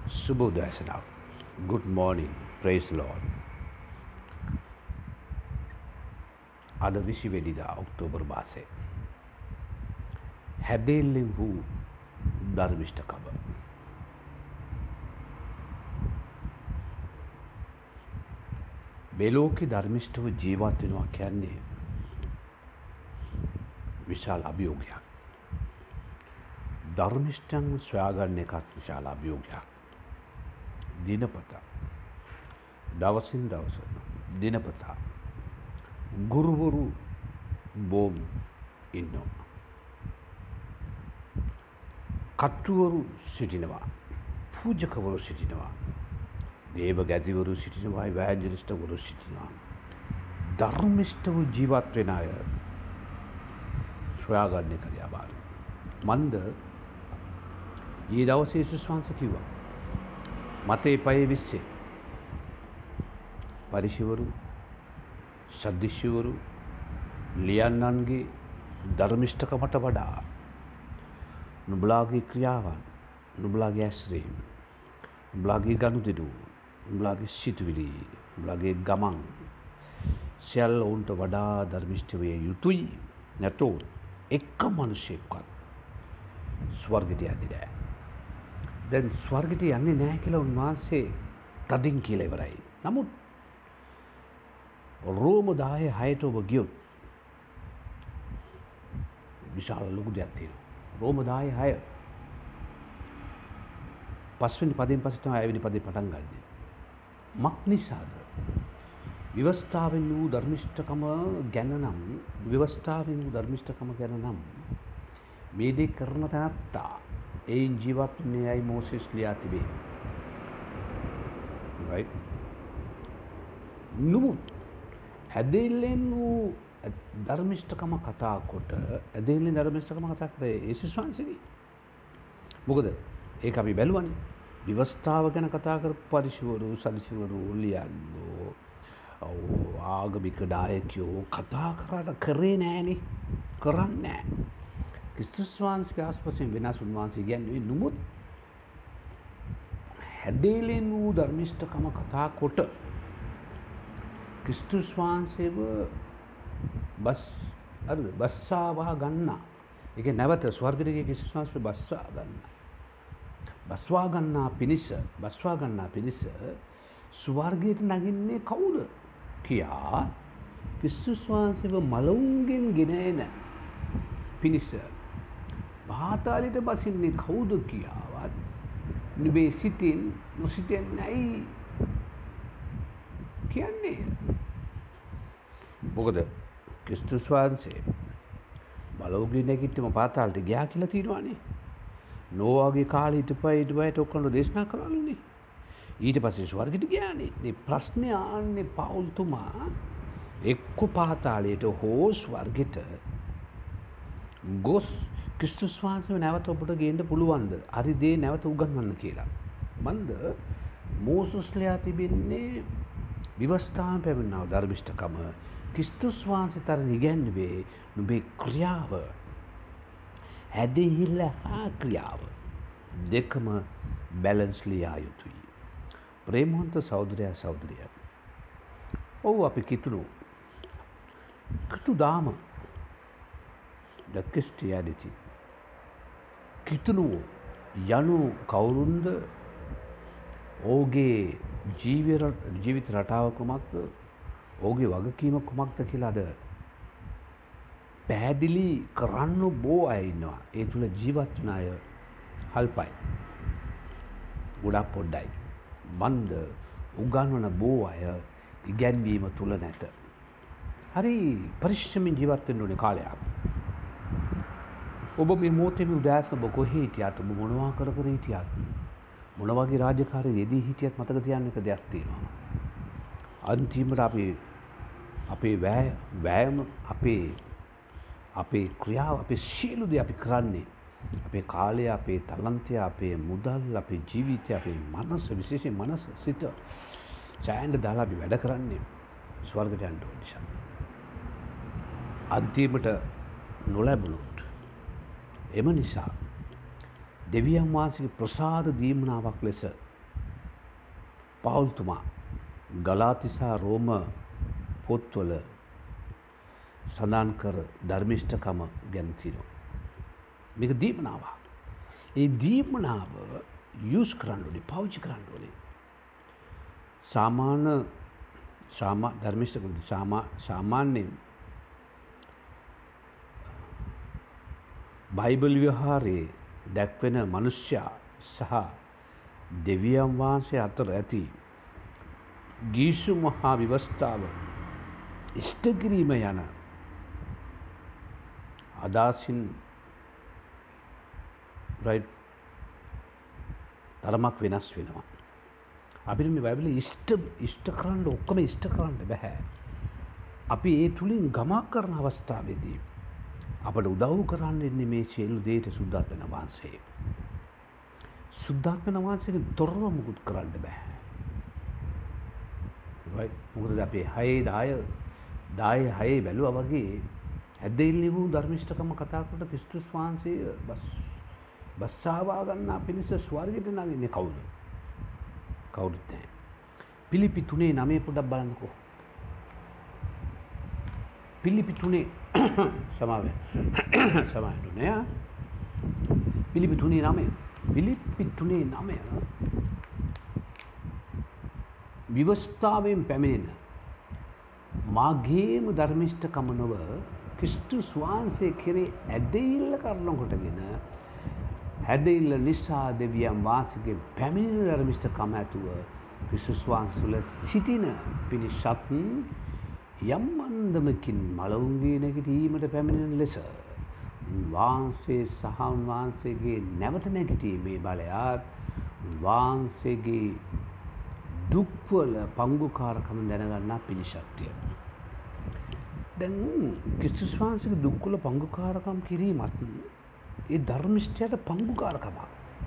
Subodhasana. Good morning. Praise the Lord. අද 20 වෙනිදා October මාසේ හැදෙල්ලෙන් වූ ධර්මිෂ්ඨකම. මේ ලෝකේ ධර්මිෂ්ඨව ජීවත් වෙනවා කියන්නේ විශාල අභියෝගයක්. ධර්මිෂ්ඨයන් සොයාගන්න එකත් විශාල අභියෝගයක්. දිනපතා දවසින් දවස දිනපතා ගුරුවරු බොම් ඉන්නවා. කට්ටුවරු සිටිනවා. පූජකවරු සිටිනවා. දේව ගැතිවරු සිටිනවා. ඉවැන්ජලිස්ටවරු සිටිනවා. ධර්මිෂ්ඨව ජීවත් වෙන අය සොයාගන්න එක අමාරුයි. මන්ද ඊ දවසේ යේසුස් වහන්සේ කිව්වා මතේ 5:20 පරිශවරු සද්දිශවරු ලියන්නන්ගේ ධර්මිෂ්ඨකමට වඩා නුඹලාගේ ක්‍රියාවන් නුඹලාගේ ඇස්රීම් නුඹලාගේ ගනුදෙනු නුඹලාගේ සිතුවිලි නුඹලාගේ ගමන් සියල්ල උන්ට වඩා ධර්මිෂ්ඨ විය යුතුයි. නැතොත් එක මිනිසෙක්වත් ස්වර්ගයට යන්නේ නැහැ. දැන් ස්වර්ගයට යන්නේ නැහැ කියලා උන්වහන්සේ තදින් කියලා ඉවරයි. නමුත් රෝම 10:6ට ඔබ ගියොත් විශාල ලොකු දෙයක් තියෙනවා. රෝම 10:6 පස්වෙනි පදයෙන් පස්සේ තමයි 6 වෙනි පදේ පටන් ගන්නේ. මක් නිසාද? විවස්ථාවෙන් වූ ධර්මිෂ්ඨකම ගැන නම් විවස්ථාවෙන් වූ ධර්මිෂ්ඨකම ගැන නම් මේ දේ කරන තාත්තා එයින් ජීවත් වුණේ අය මෝසෙස් ලියා තිබේ. right? නුමුත් ඇදෙල්ලෙන් වූ ධර්මිෂ්ඨකම කතා කොට ඇදෙල්ලෙන් ධර්මිෂ්ඨකම කතා කරේ යේසුස් වහන්සේනේ. මොකද ඒක අපි බැලුවනේ. විවස්ථාව ගැන කතා කරපු පරිශවරු සදිශවරු ලියන්නෝ ආගමික නායකයෝ කතා කරේ නෑනේ. කරන්නේ නෑ. ක්‍රිස්තුස් වහන්සේගේ ආස්පසෙන් වෙනස් උන්වහන්සේ කියන්නේ නුමුත් හැදෙලෙන් වූ ධර්මිෂ්ඨකම කතා කොට ක්‍රිස්තුස් වහන්සේව බස්සාවා ගන්නා. ඒක නැවත ස්වර්ගයට ගිය ක්‍රිස්තුස් වහන්සේ බස්වා ගන්නා පිණිස ස්වර්ගයට නගින්නේ කවුද කියා ක්‍රිස්තුස් වහන්සේව මලවුන්ගෙන් ගෙන එන පිණිස පාතාලයට බසින්නේ කවුද කියාවත් නුඹේ සිතින් නොසිතෙන්නයි කියන්නේ. මොකද ක්‍රිස්තුස් වහන්සේ මලවුන්ගෙන් නැගිට්ටම පාතාලයට ගියා කියලා තියෙනවානේ. නෝවාගේ කාලේ ඊට ඔක්කොම දේශනා කරලානේ. ඊට පස්සේ ස්වර්ගයට ගියානේ. මේ ප්‍රශ්නේ ආන්නේ පවුල්තුමා එක්ක පාතාලයට හෝ ස්වර්ගයට ගොස් ක්‍රිස්තුස් වහන්සේව නැවත ඔබට ගේන්න පුළුවන්ද? හරි දේ නැවත උගන්වන්න කියලා. මන්ද මෝසස් ලියා තිබෙන්නේ විවස්ථාවෙන් පැමිණෙනා ධර්මිෂ්ඨකම ක්‍රිස්තුස් වහන්සේ තරණ ඉගැන්වුවේ නුඹේ ක්‍රියාව හැදෙහිල්ල හා ක්‍රියාව දෙකම බැලන්ස් ලියා යුතුයි. ප්‍රේමවන්ත සහෝදරයා සහෝදරිය. ඔව් අපි කිතුණු දාම the Christianity කිතුණු යනු කවුරුන්ද? ඔහුගේ ජීවිත රටාව කුමක්ද? ඔහුගේ වගකීම කුමක්ද කියලා අද පැහැදිලි කරන්න බොහෝ අය ඉන්නවා. ඒ තුල ජීවත් වන අය අල්පයි. ගොඩක් පොඩ්ඩයි. මන්ද උගන්වන බොහෝ අය ඉගැන්වීම තුල නැත. හරි පරිශ්‍රමෙන් ජීවත් වෙන්න ඕනේ කාලයක්. ඔබ මේ මොහොතේ උදෑසන ඔබ කොහේ හිටියත් ඔබ මොනවා කර හිටියත් මොන වගේ රාජකාරියේ යෙදී හිටියත් මතක තියාගන්න එක දෙයක් තියෙනවා. අන්තිමට අපේ වෑයම අපේ ක්‍රියාව අපේ සියලු දේ අපි කරන්නේ අපේ කාලය අපේ තලන්තය අපේ මුදල් අපේ ජීවිතය අපේ මනස විශේෂයෙන් මනස සිත සෑහෙන දාලා අපි වැඩ කරන්නේ ස්වර්ගයට යන්න ඕන නිසා. අන්තිමට නොලැබුණොත් එම නිසා දෙවියන් වහන්සේගේ ප්‍රසාද දීමනාවක් ලෙස පවුල්තුමා ගලාතිසා රෝම පොත්වල සඳහන් කර ධර්මිෂ්ඨකම ගැන තියෙනවා. මේක දීමනාවක්. ඒ දීමනාව යූස් කරන්න ඕනේ, පාවිච්චි කරන්න ඕනේ. ධර්මිෂ්ඨකම සාමාන්‍යයෙන් බයිබල් විහාරයේ දැක්වෙන මනුෂ්‍යයා සහ දෙවියන් වහන්සේ අතර ඇති ගීසු මහා විවස්ථාව ඉෂ්ට කිරීම යන අදහසින් තරමක් වෙනස් වෙනවා. අපිට මේ බයිබලෙ ඉෂ්ට කරන්න ඔක්කොම ඉෂ්ට කරන්න බෑ. අපි ඒ තුලින් ගමක් කරන අවස්ථාවේදී අපට උදව් කරන්න ඉන්නේ මේ සියලු දේට සුද්ධාත්ම වහන්සේ. සුද්ධාත්ම වහන්සේගේ තොරව මුකුත් කරන්න බෑ. මොකද අපි 6 බැලුවා වගේ ඇදෙල්ලි වූ ධර්මිෂ්ඨකම කතා කොට ක්‍රිස්තුස් වහන්සේ බස්සාවා ගන්නා පිණිස ස්වර්ගයට නගින්නේ කවුද? කවුරුත් නැහැ. පිලිපි 3:9 පොඩ්ඩක් බලන්නකෝ. පිලිපි 3 සමාවෙන්න නෑ. පිලිපි 3:9 පිලිපි 3:9 විවස්ථාවෙන් පැමිණෙන මාගේම ධර්මිෂ්ඨකම නොව ක්‍රිස්තුස් වහන්සේ කෙරේ ඇදහිල්ල කරන කොටගෙන ඇදහිල්ල නිසා දෙවියන් වහන්සේගේ පැමිණෙන ධර්මිෂ්ඨකම ඇතුව ක්‍රිස්තුස් වහන්සේ තුළ සිටින පිණිසත් යම් අන්දමකින් මලවුන්ගේ නැගිටීමට පැමිණෙන ලෙස උන්වහන්සේ සහ උන්වහන්සේගේ නැවත නැගිටීමේ බලයත් උන්වහන්සේගේ දුක්වල පංගුකාරකම දැනගන්නා පිණිසත්ය. දැන් ක්‍රිස්තුස් වහන්සේගේ දුක්වල පංගුකාරකම් කිරීමත් ඒ ධර්මිෂ්ඨයට පංගුකාරකමක්.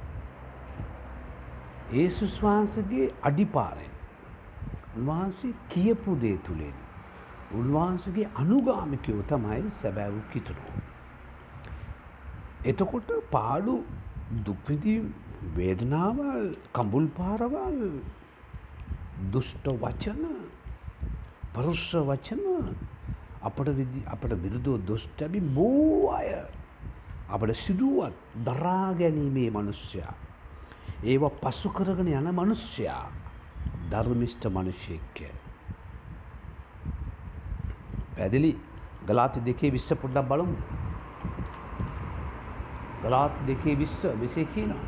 යේසුස් වහන්සේගේ අඩිපාරෙන් උන්වහන්සේ කියපු දේ තුලින් උන්වහන්සේගේ අනුගාමිකයෝ තමයි සැබෑ වූ කිතුණෝ. එතකොට පාඩු දුක් විඳීම් වේදනාවල් කඹුල් පාරවල් දුෂ්ට වචන පරුෂ වචන අපට විරුද්ධව දුෂ්ට අපි බොහෝ අය අපට සිදුවත් දරා ගැනීමේ මනුෂ්‍යයා ඒවා පසු කරගෙන යන මනුෂ්‍යයා ධර්මිෂ්ඨ මිනිසෙක්. පැහැදිලි? ගලාති 2:20 පොඩ්ඩක් බලමු. ගලාති 2:20 කියනවා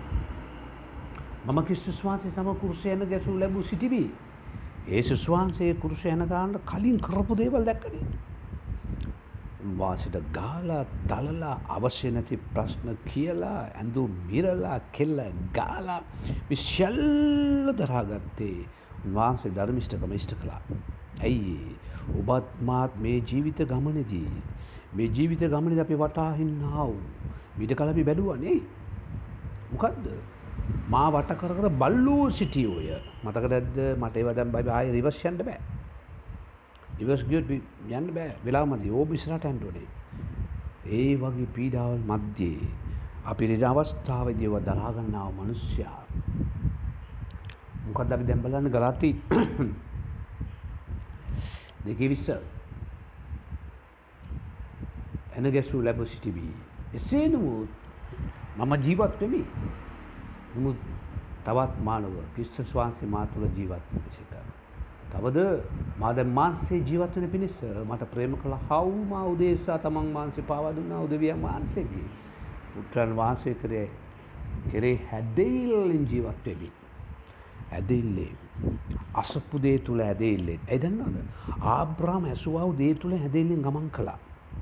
මම ක්‍රිස්තුස් වහන්සේ සම කුරුසයන ගැසූ ලැබූ සිටිවි. යේසුස් වහන්සේ කුරුසයන ගන්න කලින් කරපු දේවල් දැක්කනේ. උන්වහන්සේට ගාලා දලලා අවශ්‍ය නැති ප්‍රශ්න කියලා ඇඳුම් මිරලා කෙල්ල ගාලා විශ්යල්ල දරාගත්තේ උන්වහන්සේ ධර්මිෂ්ඨකම ඉෂ්ට කළා. ඇයි? ඔබත් මාත් මේ ජීවිත ගමනේදී අපි වටාහින්නා වූ ඊට කල අපි බැලුවානේ. මොකද්ද? මා වට කර කර බල්ලෝ සිටියෝය. මතකද නැද්ද? මට ඒව දැන් බයි ආයෙ රිවර්ස් යන්න බෑ. රිවර්ස් ගියොත් යන්න බෑ. වෙලාව මදි. ඕබ ඉස්සරහට යන්න ඕනේ. ඒ වගේ පීඩාවල් මැද්දේ අපි ඉන්න අවස්ථාවේදී ඒව දරා ගන්නා මිනිස්සයා. මොකද්ද අපි දැන් බලන්නේ ගලාති 2:20 එන ගැසූ ලැබ සිටිවි. එසේ නමුත් මම ජීවත් වෙමි. නමුත් තවත් මානව ක්‍රිස්තුස් වහන්සේ මා තුළ ජීවත් වෙන සිට. තවද මා දැන් මාංශේ ජීවත් වෙන පිණිස මට ප්‍රේම කළ හවු මා උදෙසා තමන් මාංශේ පාවා දුන්නා උදවියන් වහන්සේගේ පුත්‍රයන් වහන්සේ කෙරේ හැදෙයිල්ලෙන් ජීවත් වෙමි. හැදෙයිල්ලේ අසප්පු දේ තුල හැදෙයිල්ලෙන්. ඒ දන්නවද? ආබ්‍රහම් ඇසුවා වූ දේ තුල හැදෙයිල්ලෙන් ගමන් කළා.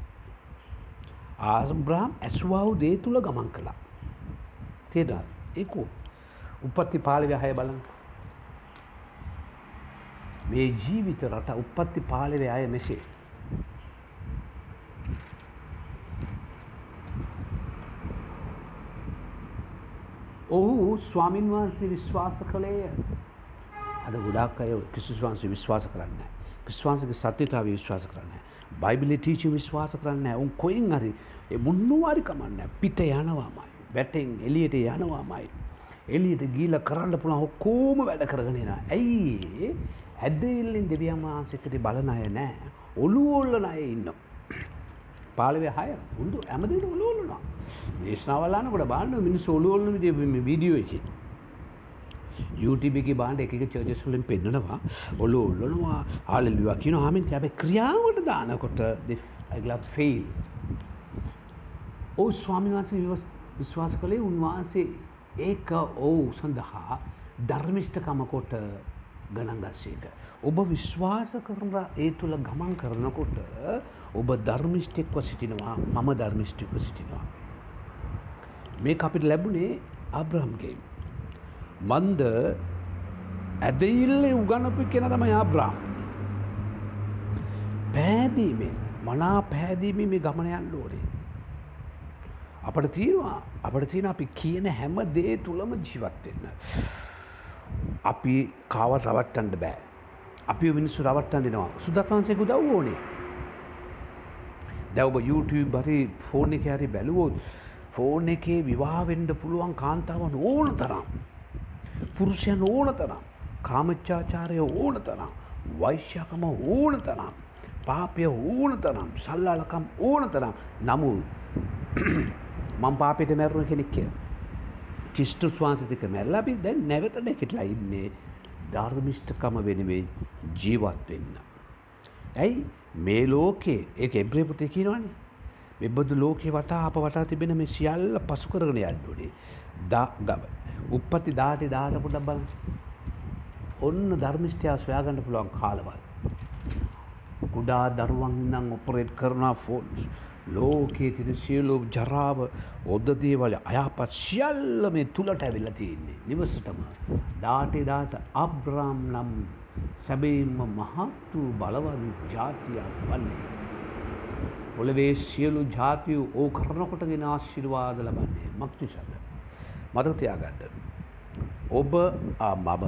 ආබ්‍රහම් ඇසුවා වූ දේ තුල ගමන් කළා. තේරුණාද? ඒක උපත්ති 15:6 බලන්න. මේ ජීවිත රට උපත්ති 15:6 මෙසේ. ඔහු ස්වාමින් වහන්සේ විශ්වාස කළේය. අද ගොඩාක් අය ක්‍රිස්තුස් වහන්සේ විශ්වාස කරන්නේ නැහැ. ක්‍රිස්තුස් වහන්සේගේ සත්‍යතාවය විශ්වාස කරන්නේ නැහැ. බයිබලයේ ටීචින් විශ්වාස කරන්නේ නැහැ. උන් කොහෙන් හරි ඒ මොනවා හරි කමන්නේ පිට යනවාමයි. වැටෙන් එළියට යනවාමයි. එළියට ගිහිල්ලා කරන්න පුළුවන් ඔක්කොම වැඩ කරගෙන යනවා. ඇයි ඇදහිල්ලෙන් දෙවියන් වහන්සේට බලන අය නැහැ. ඔළුව ඔල්ලන අය ඉන්නවා. පාළවේ 6 උන්දු හැමදේම ඔළුව ඔල්ලනවා. දේශනාවල් අහනකොට බලන්න මිනිස්සු ඔළුව ඔල්ලන විදිය මේ වීඩියෝ එකේ. YouTube එකේ බලන්න එක එක චර්චස් වලින් පෙන්නනවා ඔළුව ඔල්ලනවා හාලෙලුයා කියනවා ආමෙන් හැබැයි ක්‍රියාවට දානකොට they like fail. ඔව් ස්වාමීන් වහන්සේ විශ්වාස කළේ උන්වහන්සේ ඒක ඔව් සඳහා ධර්මිෂ්ඨකම කොට ගණන් ගස්සේක. ඔබ විශ්වාස කරන ඒ තුල ගමන් කරනකොට ඔබ ධර්මිෂ්ඨෙක්ව සිටිනවා මම ධර්මිෂ්ඨෙක්ව සිටිනවා. මේක අපිට ලැබුණේ ආබ්‍රහම්ගෙන්. මන්ද ඇදහිල්ලේ උගන්නපු කෙනා තමයි ආබ්‍රහම්. පෑදීමෙන් මනා පැහැදීමේ මේ ගමන යන්න ඕනේ. අපිට තියෙනවා අපි කියන හැම දේ තුලම ජීවත් වෙන්න. අපි කාවත් රවට්ටන්න බෑ. අපි මිනිස්සු රවට්ටන්න දෙනවා. සුදත්වංශයේ උදව් ඕනේ. දැන් ඔබ YouTube හරි ෆෝන් එකේ හරි බැලුවොත් ෆෝන් එකේ විවාහ වෙන්න පුළුවන් කාන්තාවන් ඕන තරම්. පුරුෂයන් ඕන තරම්. කාමච්ඡාචාරය ඕන තරම්. වෛශ්‍යකම ඕන තරම්. පාපය ඕන තරම්. සල්ලාලකම් ඕන තරම්. නමුත් මම පාපෙට මැරුණ කෙනෙක් කියලා. ක්‍රිස්තුස් වහන්සේට මැරලා අපි දැන් නැවත නැගිටලා ඉන්නේ ධර්මිෂ්ඨකම වෙනුවෙන් ජීවත් වෙන්න. ඇයි මේ ලෝකේ ඒක එබ්‍රේ පුතේ කියනවනේ. මෙබඳු ලෝකේ වටා අප වටා තිබෙන මේ සියල්ල පසු කරගෙන යන්න ඕනේ. උප්පත්ති 18 පොඩ්ඩක් බලන්න. ඔන්න ධර්මිෂ්ඨයා සොයාගන්න පුළුවන් කාලවල. කුඩා දරුවන් නම් ඔපරේට් කරන ෆෝන්ස් ලෝකයේ තියෙන සියලු ජරාව ඔද්ද දේවල් අයහපත් සියල්ල මේ තුලට ඇවිල්ලා තියෙන්නේ නිවසටම 18 අබ්‍රාම් නම් සැබෑම මහත් වූ බලවත් ජාතියක් වන්නේ. පොළවේ සියලු ජාතිය ඕ කරනකොටගෙන ආශිර්වාද ලබන්නේ මක්තිසද. මතක තියාගන්න. ඔබ මම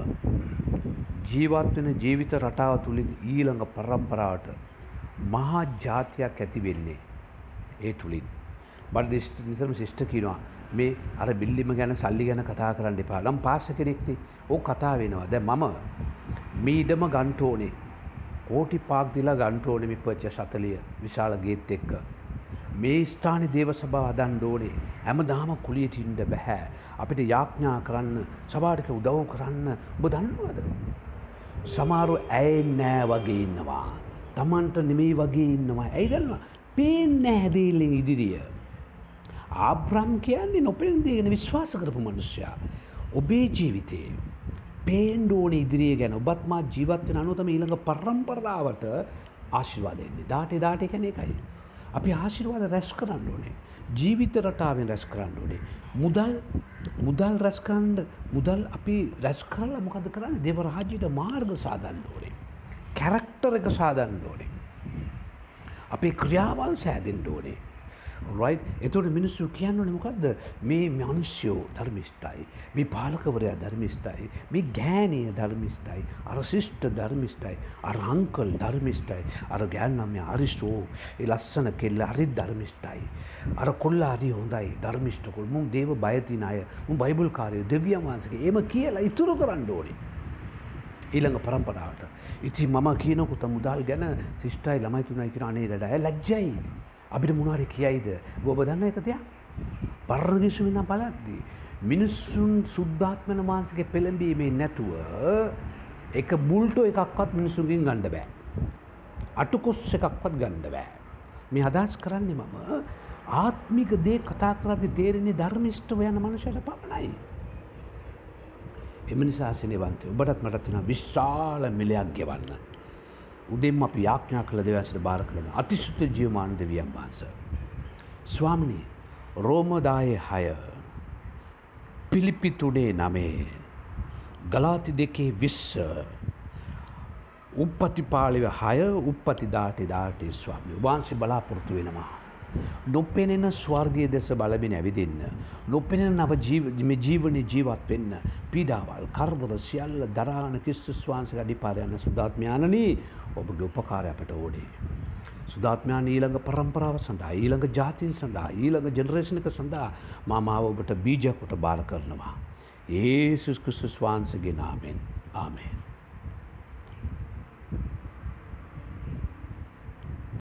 ජීවත් වෙන ජීවිත රටාව තුලින් ඊළඟ පරම්පරාවට මහා ජාතියක් ඇති වෙන්නේ ඒ තුලින්. බඩ නිතරම ශිෂ්ට කියනවා මේ අර බිල්ලිම ගැන සල්ලි ගැන කතා කරන්න එපා. නම් පාස්ස කෙනෙක්නේ. ඕක කතා වෙනවා. දැන් මම මේ ඉඩම ගන්න ඕනේ. කෝටි 5ක් දීලා ගන්න ඕනේ මේ පර්චේස් 40 විශාල ගේට් එක්ක. මේ ස්ථානයේ දේව සභාව හදන්න ඕනේ. හැමදාම කුලියට ඉන්න බෑ. අපිට යාඥා කරන්න, සභාවට උදව් කරන්න ඔබ දන්නවද? සමහරව ඇයෙන්නේ නෑ වගේ ඉන්නවා. Tamanට නෙමෙයි වගේ ඉන්නවා. ඇයි දන්නවද? පේන්නේ නැහැ දෙයිලේ ඉදිරිය. ආබ්‍රහම් කියන්නේ නොපෙනෙන දේ ගැන විශ්වාස කරපු මිනිසයා. ඔබේ ජීවිතේ පේන්න ඕනේ ඉදිරිය ගැන. ඔබත් මා ජීවත් වෙන අනුව තමයි ඊළඟ පරම්පරාවට ආශිර්වාද එන්නේ. 18 කියන්නේ ඒකයි. අපි ආශිර්වාද රැස් කරන්න ඕනේ. ජීවිත රටාවෙන් රැස් කරන්න ඕනේ. මුදල් රැස් කරන්න මුදල් අපි රැස් කරලා මොකද කරන්නේ? දේව රාජ්‍යයට මාර්ග සාදන්න ඕනේ. කැරක්ටර් එක සාදන්න ඕනේ. අපේ ක්‍රියාවල් සෑදෙන්න ඕනේ. right? එතකොට මිනිස්සු කියන්නේ මොකද්ද? මේ මිනිස්සු ධර්මිෂ්ඨයි. මේ පාලකවරයා ධර්මිෂ්ඨයි. මේ ගෑණිය ධර්මිෂ්ඨයි. අර සිස්ටර් ධර්මිෂ්ඨයි. අර අංකල් ධර්මිෂ්ඨයි. අර ගෑණියා අරිෂෝ ඒ ලස්සන කෙල්ල හරි ධර්මිෂ්ඨයි. අර කොල්ලා හරි හොඳයි ධර්මිෂ්ඨ කොල්. මුන් දේව බය තින අය. මුන් බයිබල් කාර්යය දෙවියන් වහන්සේගේ එහෙම කියලා ඉතුරු කරන්න ඕනේ. ඊළඟ පරම්පරාවට. ඉතින් මම කියනකොට මුදල් ගැන සිස්ටර්යි ළමයි තුනයි කියන අනේ දඩ ලැජ්ජයි. අපිට මොනවාරි කියයිද? ඔබ දන්න එක තියා. පරණගිසු වෙන බලද්දී මිනිස්සුන් සුද්ධාත්මන මානසික පෙළඹීමේ නැතුව එක බුල්ටෝ එකක්වත් මිනිස්සුන්ගෙන් ගන්න බෑ. අටුකොස් එකක්වත් ගන්න බෑ. මේ අදහස් කරන්නේ මම ආත්මික දේ කතා කරද්දී තේරෙන්නේ ධර්මිෂ්ඨව යන මනුෂ්‍යයට පමණයි. එම නිසා සිනවන්තය ඔබටත් මටත් වෙන විශාල මිලයක් ගෙවන්න. උදෙන්ම අපි යාඥා කළ දෙවියන්ට බාර කළා. අතිශුද්ධ ජීවමාන දෙවියන් වහන්සේ. ස්වාමිනී රෝම 10:6 පිලිපි 3:9 ගලාති 2:20 උප්පති පාළිව 6 උප්පති 18 ස්වාමී වහන්සේ බලාපොරොත්තු වෙනවා. නොපෙනෙන ස්වර්ගීය දෙස බලමින් ඇවිදින්න. නොපෙනෙන නව ජීවනයේ ජීවත් වෙන්න. පීඩාවල් කරදර සියල්ල දරාන ක්‍රිස්තුස් වහන්සේගේ අඩිපාර යන සුදාත්මයාණනි ඔබගේ උපකාරය අපට ඕනේ. සුදාත්මයාණන් ඊළඟ පරම්පරාව සඳහා ඊළඟ ජාතීන් සඳහා ඊළඟ ජෙනරේෂන් එක සඳහා මාව ඔබට බීජයක් කොට බාර කරනවා. යේසුස් ක්‍රිස්තුස් වහන්සේගේ නාමයෙන් ආමේන්.